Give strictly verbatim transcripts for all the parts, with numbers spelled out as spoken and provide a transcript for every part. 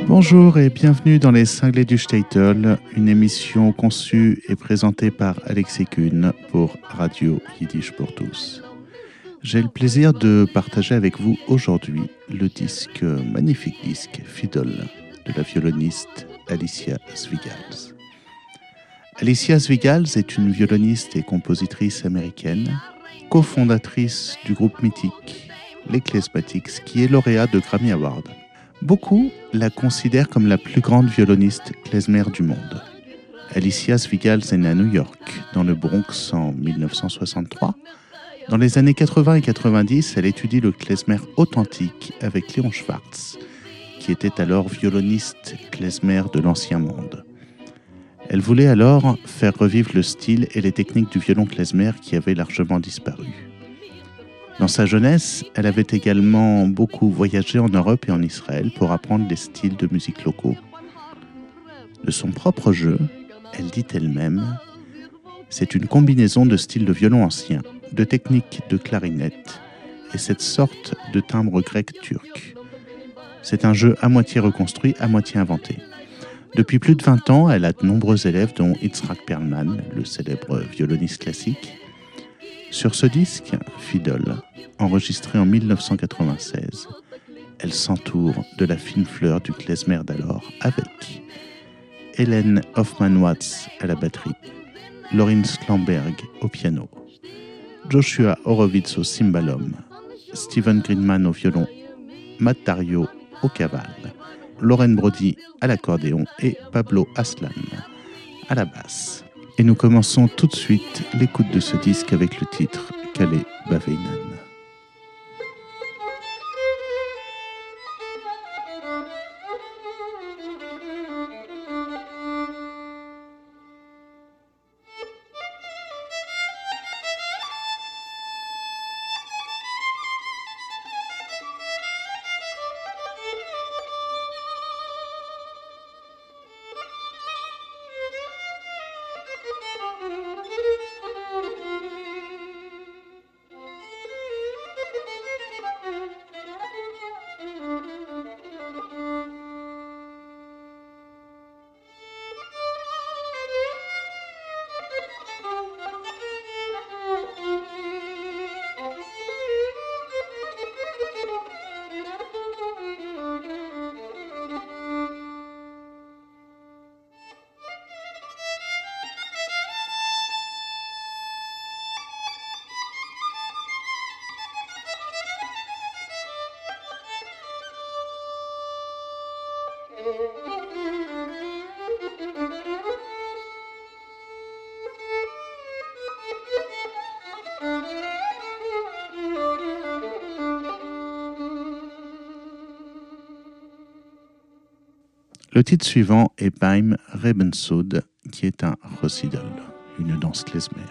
Bonjour et bienvenue dans les Cinglés du Shtetl, une émission conçue et présentée par Alexis Kuhn pour Radio Yiddish pour tous. J'ai le plaisir de partager avec vous aujourd'hui le disque, magnifique disque, Fiddle, de la violoniste Alicia Svigals. Alicia Svigals est une violoniste et compositrice américaine, cofondatrice du groupe mythique les Klezmatics, qui est lauréat de Grammy Award. Beaucoup la considèrent comme la plus grande violoniste klezmer du monde. Alicia Svigals est née à New York, dans le Bronx en dix-neuf cent soixante-trois. Dans les années quatre-vingts et quatre-vingt-dix, elle étudie le klezmer authentique avec Léon Schwartz, qui était alors violoniste klezmer de l'Ancien Monde. Elle voulait alors faire revivre le style et les techniques du violon klezmer qui avaient largement disparu. Dans sa jeunesse, elle avait également beaucoup voyagé en Europe et en Israël pour apprendre les styles de musique locaux. De son propre jeu, elle dit elle-même, c'est une combinaison de styles de violon ancien, de techniques de clarinette et cette sorte de timbre grec-turc. C'est un jeu à moitié reconstruit, à moitié inventé. Depuis plus de vingt ans, elle a de nombreux élèves, dont Itzhak Perlman, le célèbre violoniste classique. Sur ce disque, Fiddle, enregistré en dix-neuf cent quatre-vingt-seize, elle s'entoure de la fine fleur du klezmer d'alors avec Hélène Hoffmann-Watts à la batterie, Lorin Slamberg au piano, Joshua Horowitz au cymbalum, Steven Greenman au violon, Matt Dario au cavale, Lauren Brody à l'accordéon et Pablo Aslan à la basse. Et nous commençons tout de suite l'écoute de ce disque avec le titre Kale Baveinan. Le titre suivant est Beim Rebensud, qui est un Recital, une danse klezmer.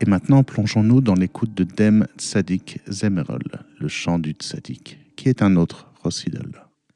Et maintenant, plongeons-nous dans l'écoute de Dem Tzadik Zemerol, le chant du Tzadik, qui est un autre Rossidol.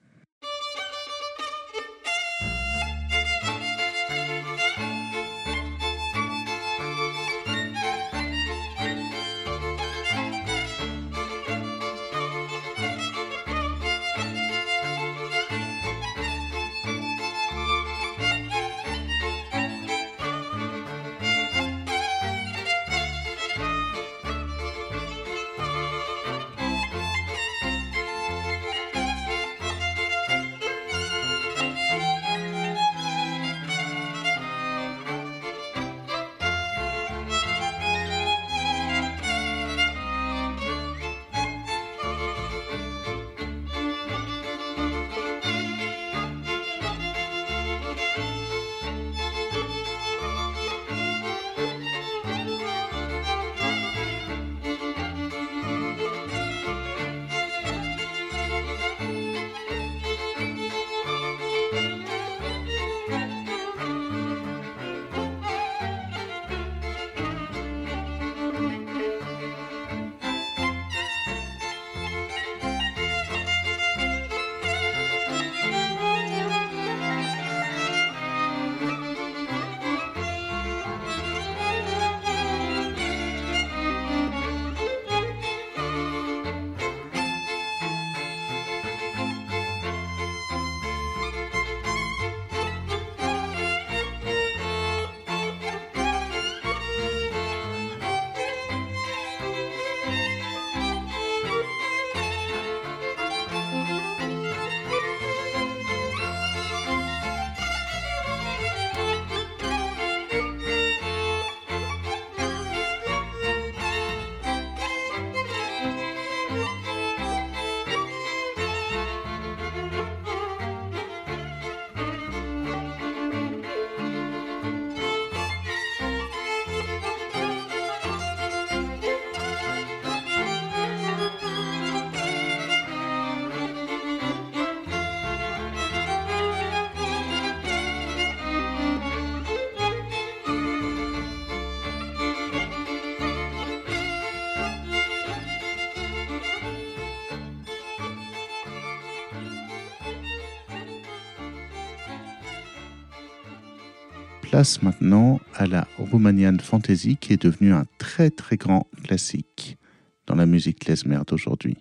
Place maintenant à la Romanian Fantasy qui est devenue un très très grand classique dans la musique klezmer d'aujourd'hui.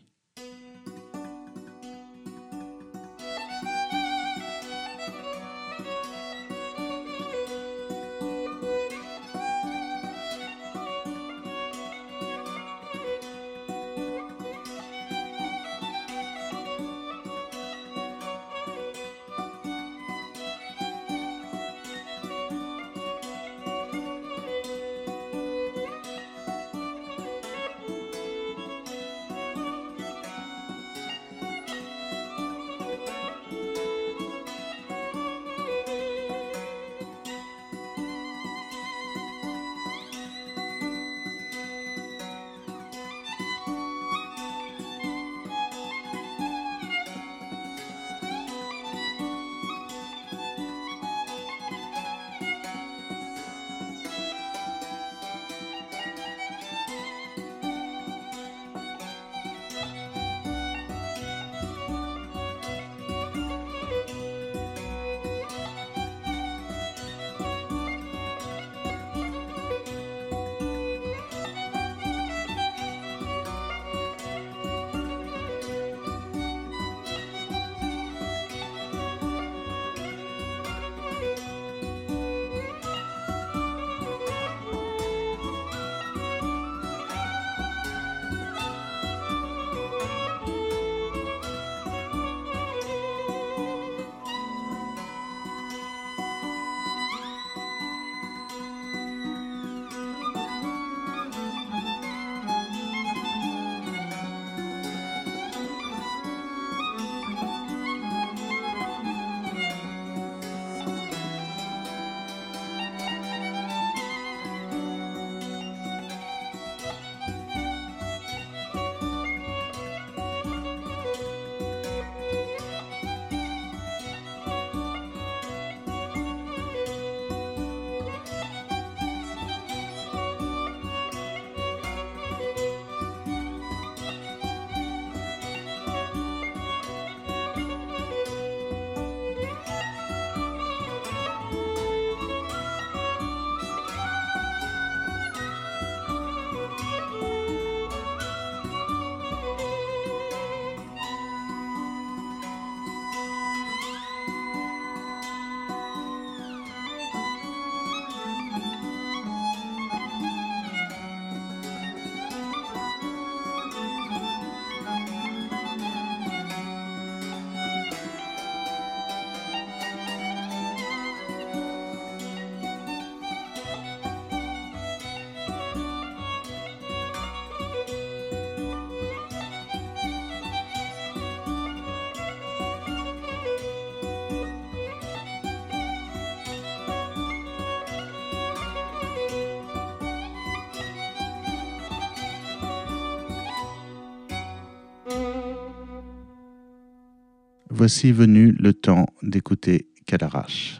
voici venu le temps d'écouter Cadarache.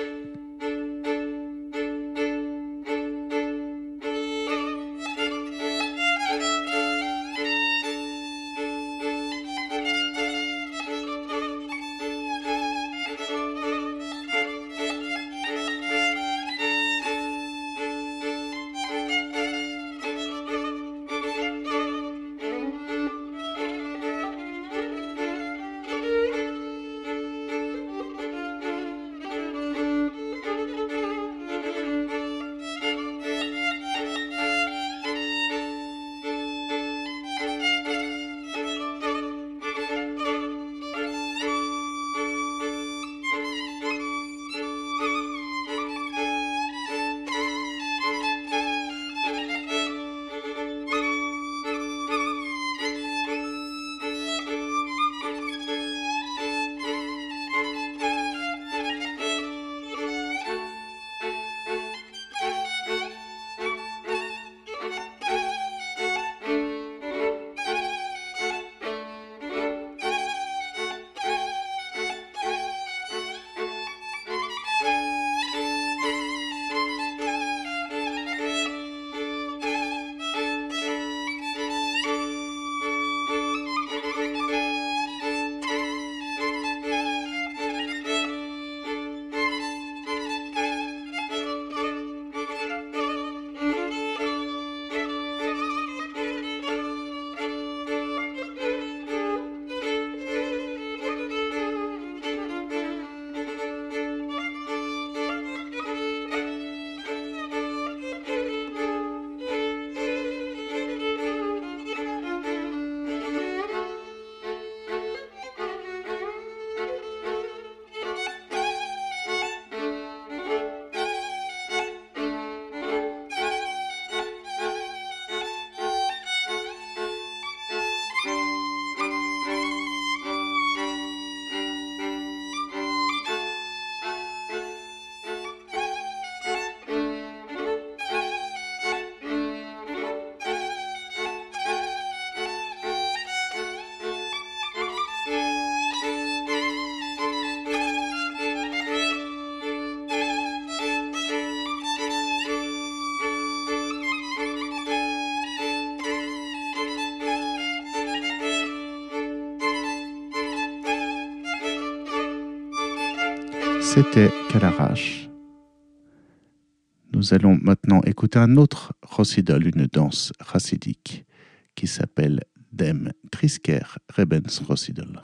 C'était Cadarache. Nous allons maintenant écouter un autre Rossidol, une danse chassidique qui s'appelle Dem Trisker Rebens Rossidol.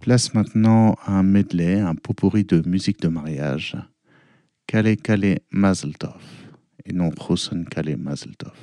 Place maintenant à un medley, un pot-pourri de musique de mariage. Kale Kale Mazel Tov, et non Chosen Kale Mazel Tov.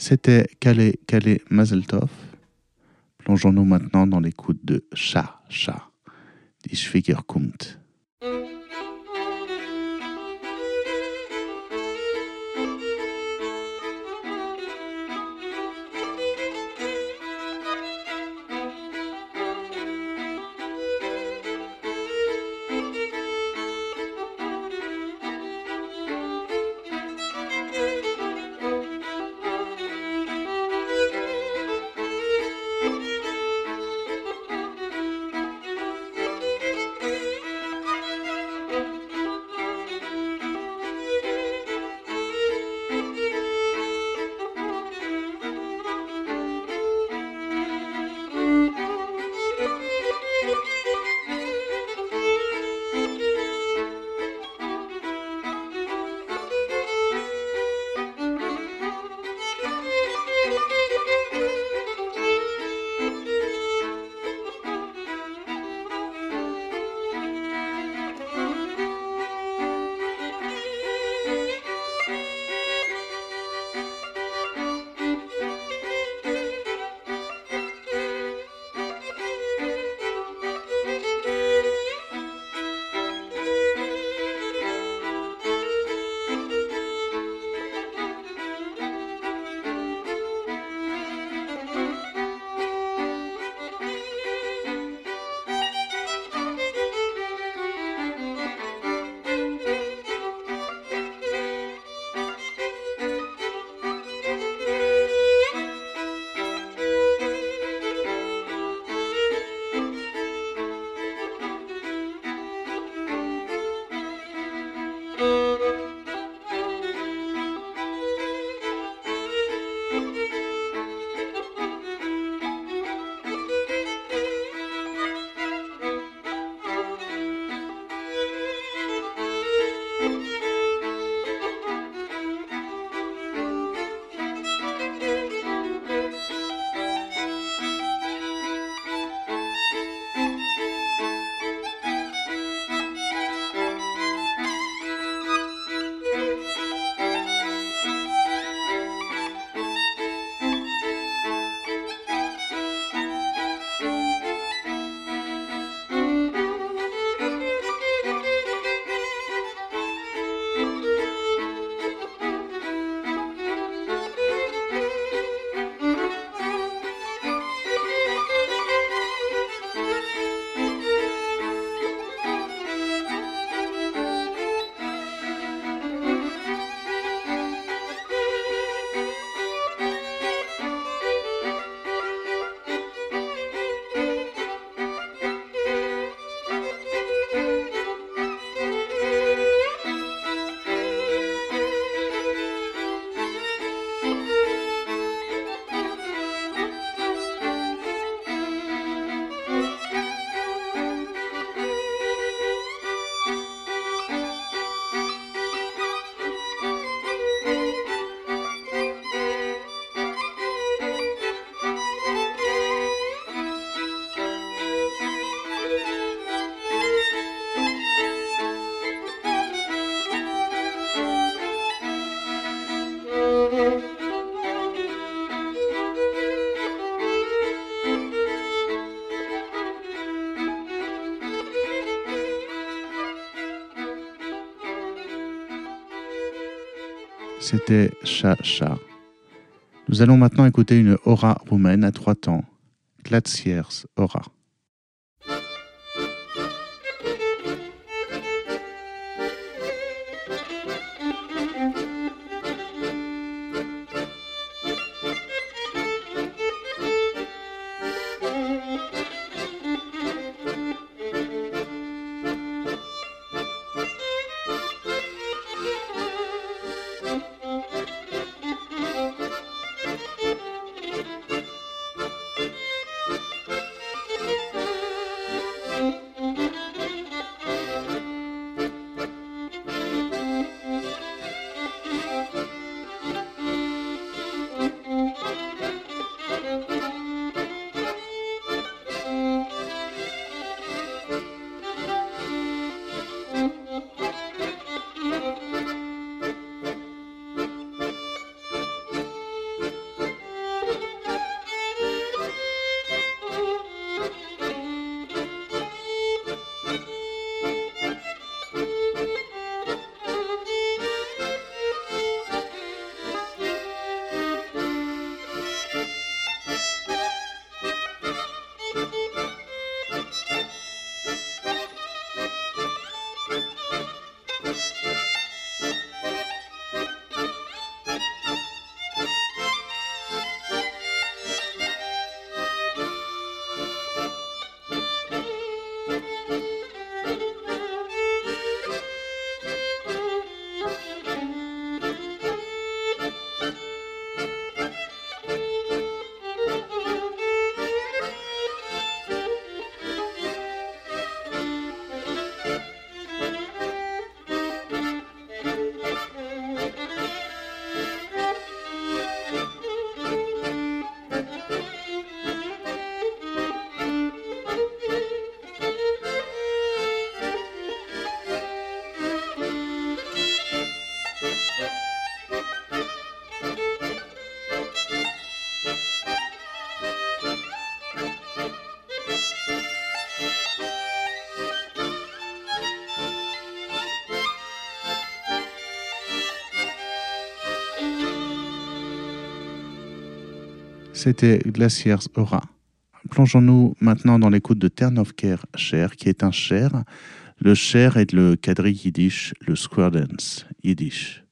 C'était Calais, Calais, Mazel Tov. Plongeons-nous maintenant dans l'écoute de Cha, Cha, Die Schwiegerkommt. C'était Cha Cha. Nous allons maintenant écouter une aura roumaine à trois temps, Glaciers Aura. C'était Glaciers Aura. Plongeons-nous maintenant dans l'écoute de Ternofker Cher, qui est un cher. Le cher est le quadrille yiddish, le square dance yiddish.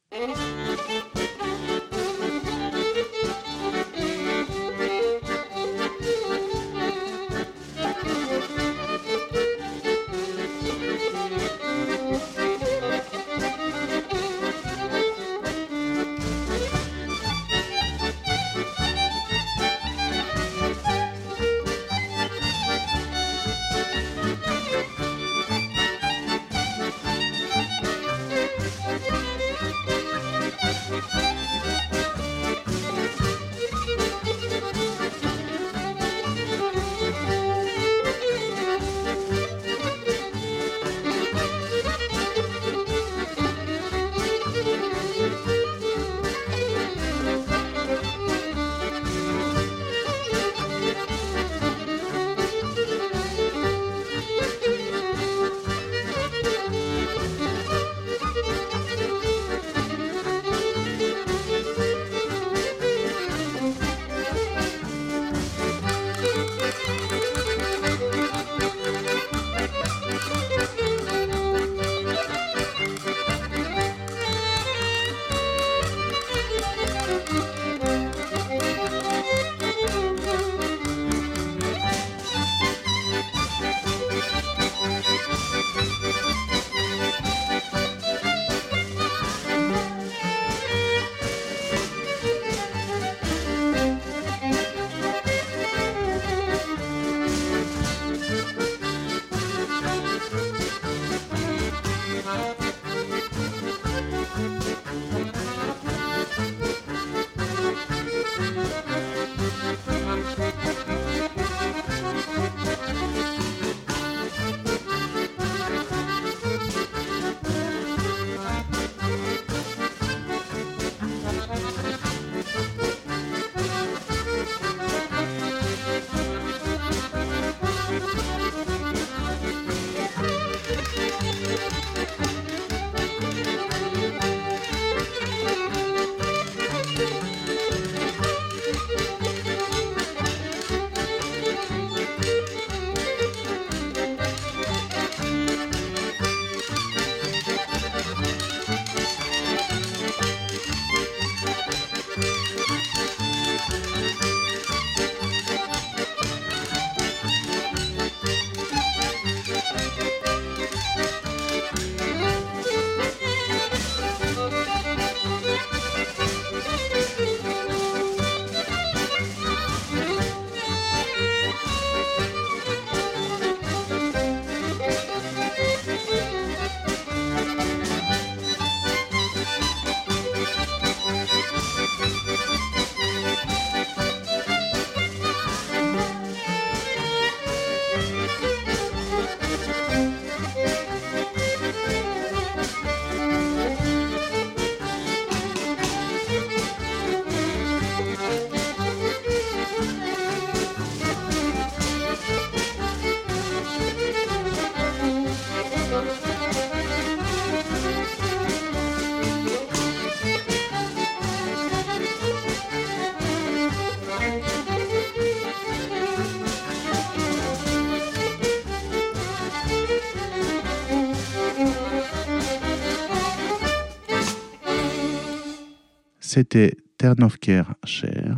C'était Ternofker Cher.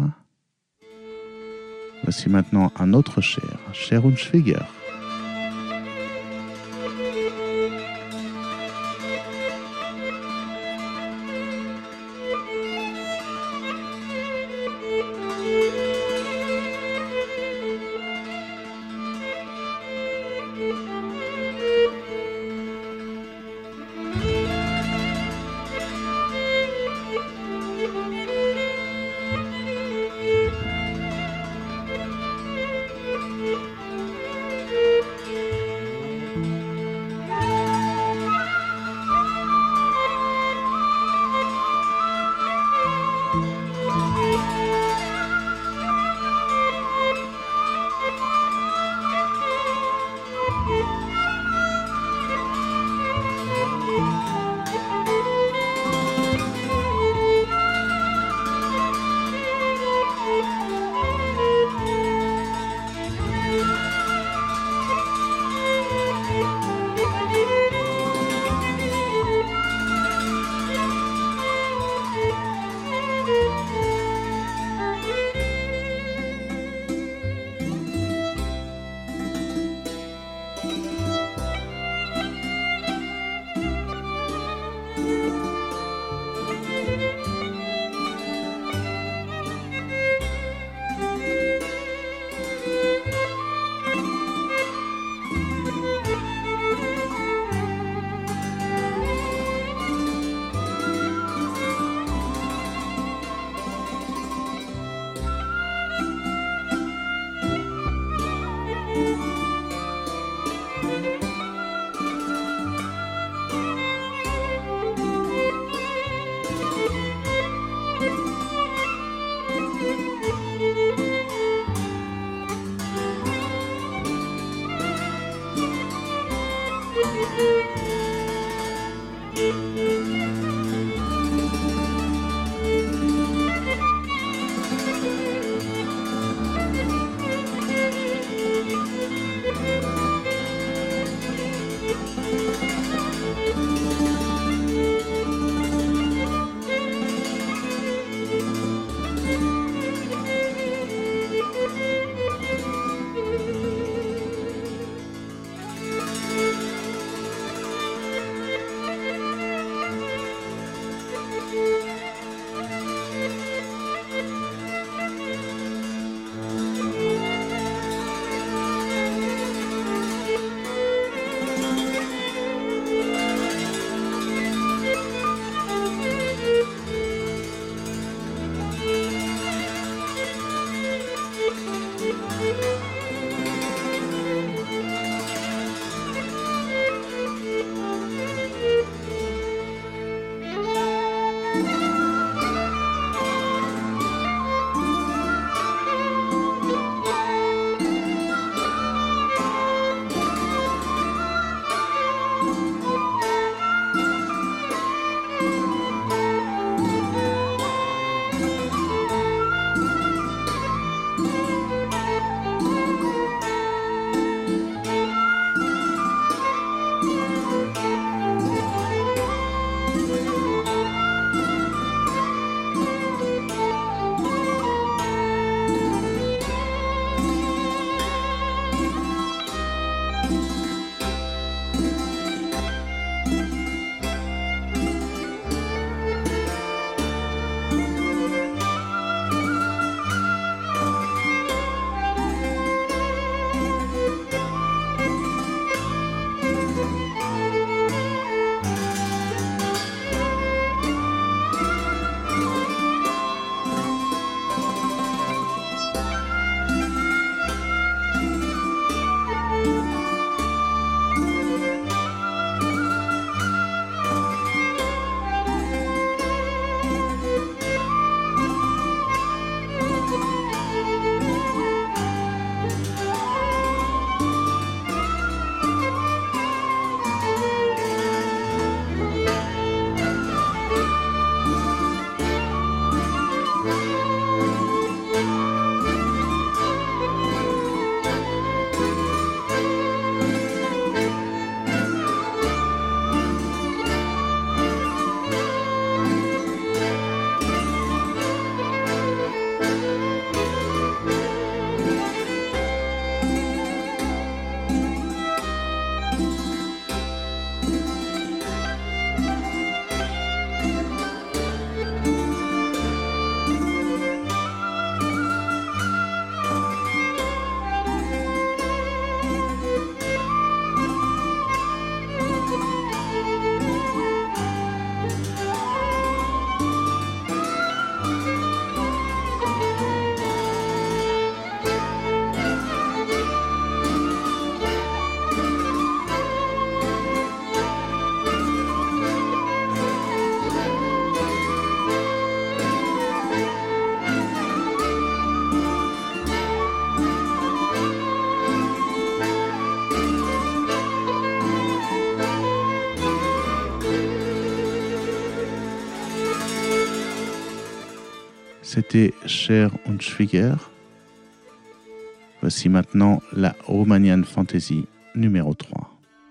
Voici maintenant un autre Cher, Cher und Schwieger. C'était Cher und Schwieger. Voici maintenant la Romanian Fantasy numéro trois.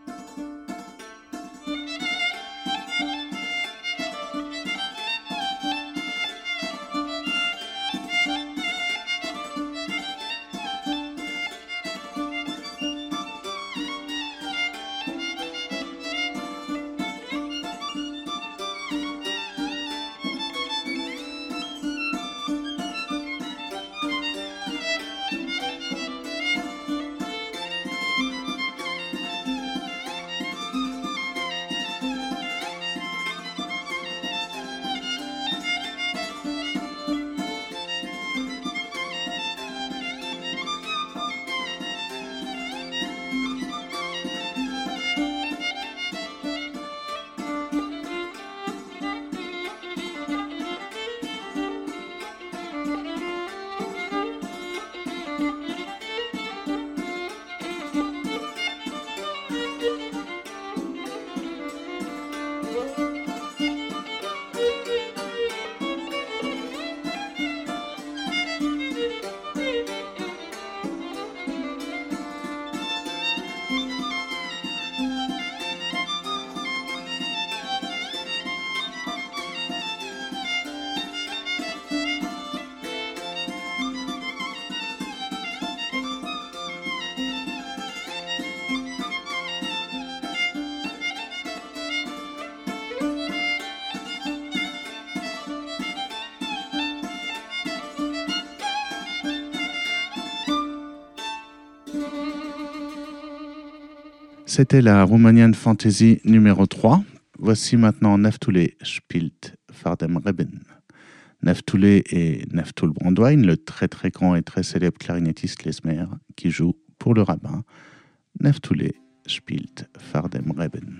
C'était la Romanian Fantasy numéro trois. Voici maintenant Naftule spielt vor dem Reben. Naftule et Naftul Brandwein, le très très grand et très célèbre clarinettiste klezmer qui joue pour le rabbin. Naftule spielt vor dem Reben.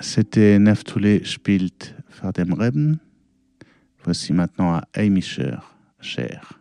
C'était Naftule spielt vor dem Reben. Voici maintenant à Heimischer Cher.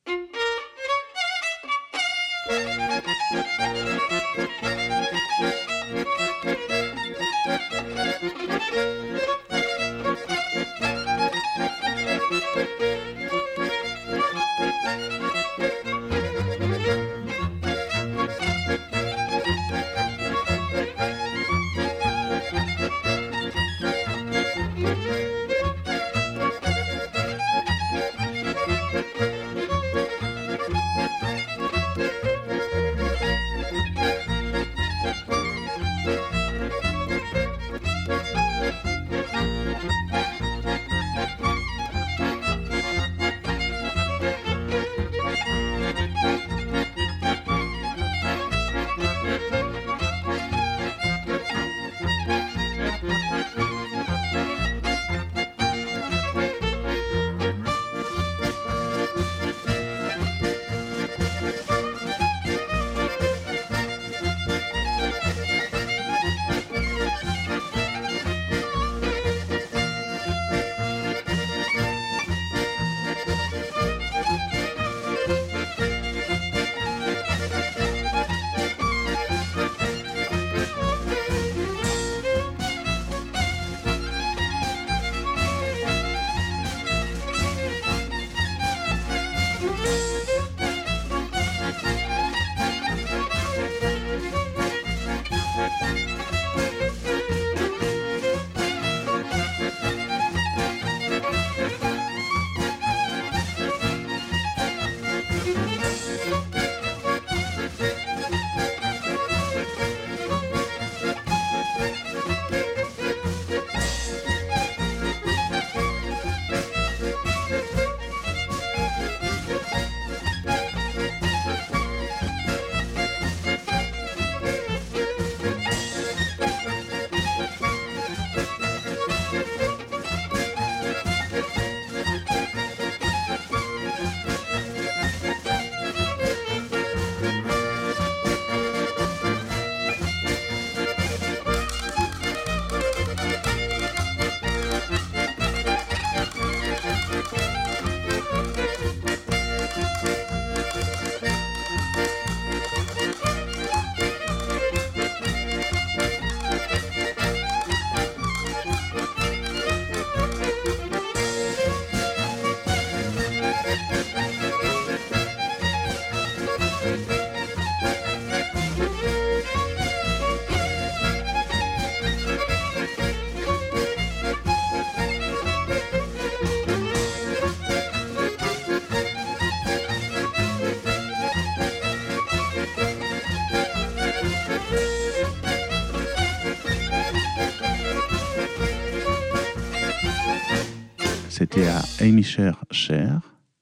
C'était à Heimischer Cher.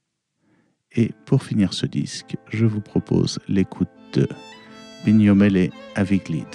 Et pour finir ce disque, je vous propose l'écoute de Bignomele Aviglid.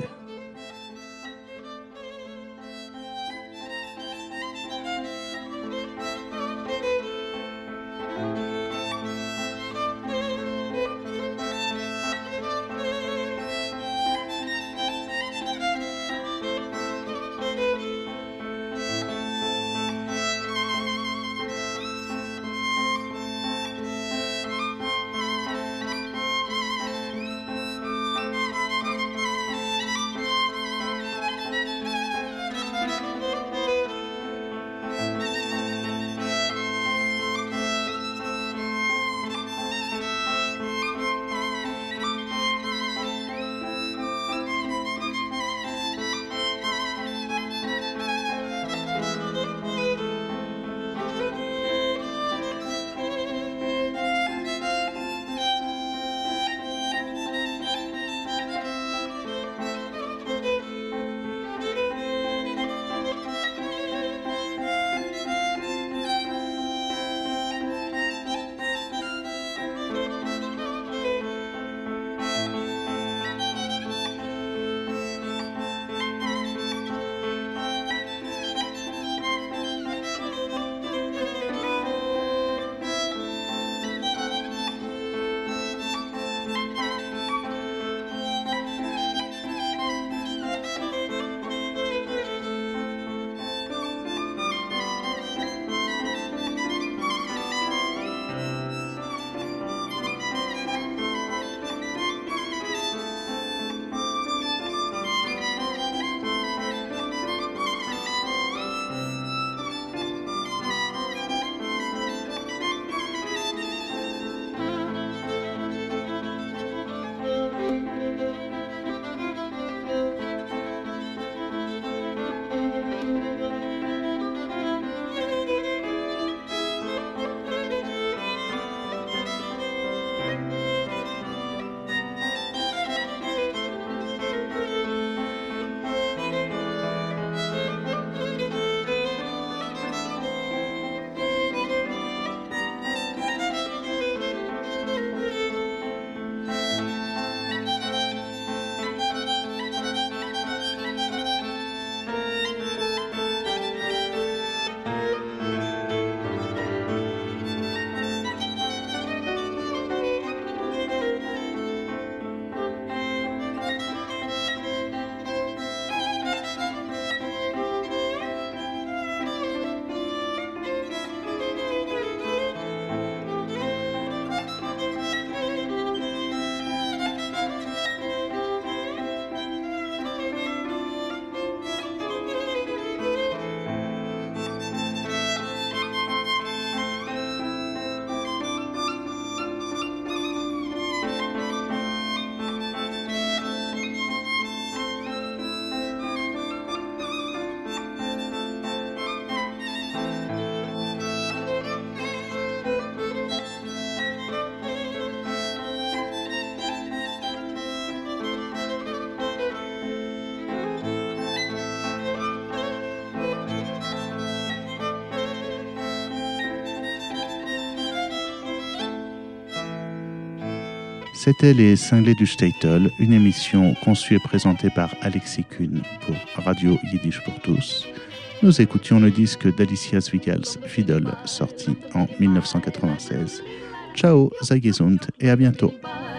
C'était Les Cinglés du Shtetl, une émission conçue et présentée par Alexis Kuhn pour Radio Yiddish pour tous. Nous écoutions le disque d'Alicia Zwigals, Fiddle, sorti en dix-neuf cent quatre-vingt-seize. Ciao, sei gesund et à bientôt.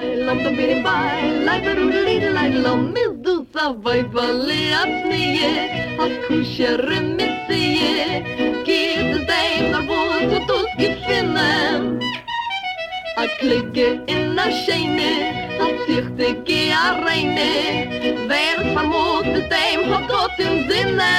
A klicke in a scheine, a zichtige a reine, wer vermutet dem hat Gott im Sinne.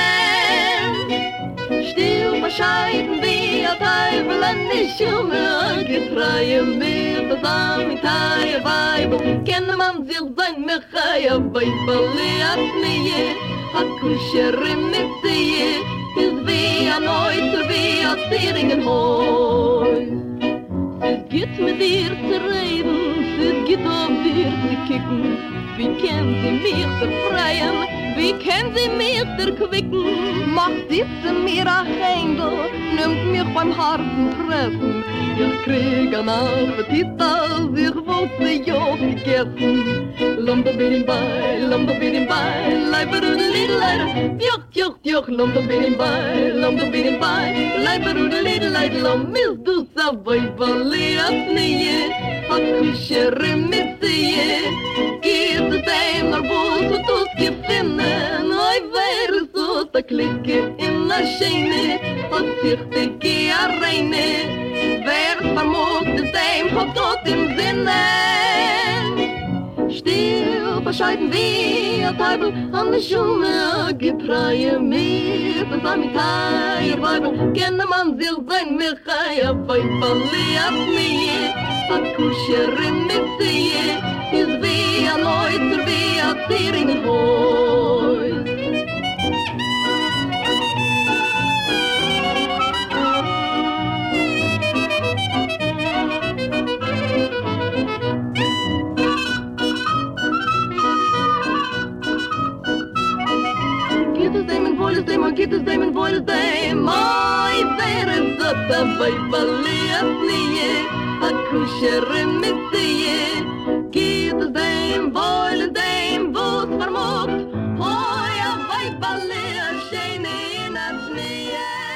Still bescheiden wie a Teufel an die Schumme, getreue mir das Amitaie Weibel, kenne man sich sein Mechaie Weibel, a Znie, a Kuscherin mit Sie, ist wie a Neuzer, wie a Zieringenhäus. Es geht mit dir zu reden, es geht auf dir zu kicken. Wie können sie mich befreien, wie können sie mich erquicken? Macht diese mir ein Händel, nimmt mich beim harten Treffen. Ich krieg an Appetit, als ich wollte ja gegessen. Lomba bin bei, lomba bin bei, leiberudelidelei, tjoch, tjoch, tjoch, lomba bin bei, lomba bin bei, leiberudelidelei, lom is du sa vaibali asnie, hat kushere missie, geht es ein naar bos und us gefinnen, oi wäre so ta klicke in a scheine, hat sich de ge a reine, wer vermogt es ein, hat Gott im Sinne. Still bescheiden wie a Teufel an der Schumme, getreue mir das Amitaie Weibel, kenne man sich sein Mechaie Weibel, a Znie, a Kuscherin mit Sie, ist wie a Neuzer, wie a Zieringenhäus. Voice them, get us them and voice them. Oi, there is the Weibali asnie, a kushere missie. Get us them, voice them, vos vermogt. Oi, a Weibali a scheine in a Znie.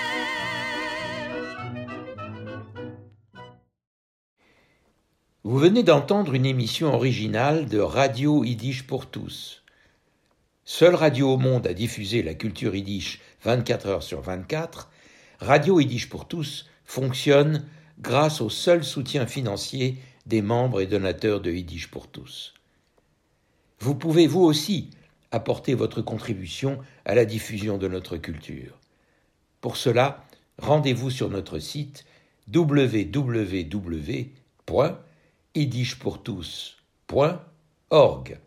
Vous venez d'entendre une émission originale de Radio Yiddish pour tous. Seule radio au monde à diffuser la culture yiddish vingt-quatre heures sur vingt-quatre, Radio Yiddish pour tous fonctionne grâce au seul soutien financier des membres et donateurs de Yiddish pour tous. Vous pouvez vous aussi apporter votre contribution à la diffusion de notre culture. Pour cela, rendez-vous sur notre site w w w point yiddish pour tous point org.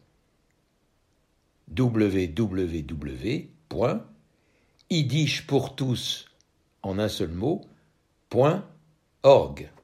w w w point yiddish pour tous en un seul mot, point org.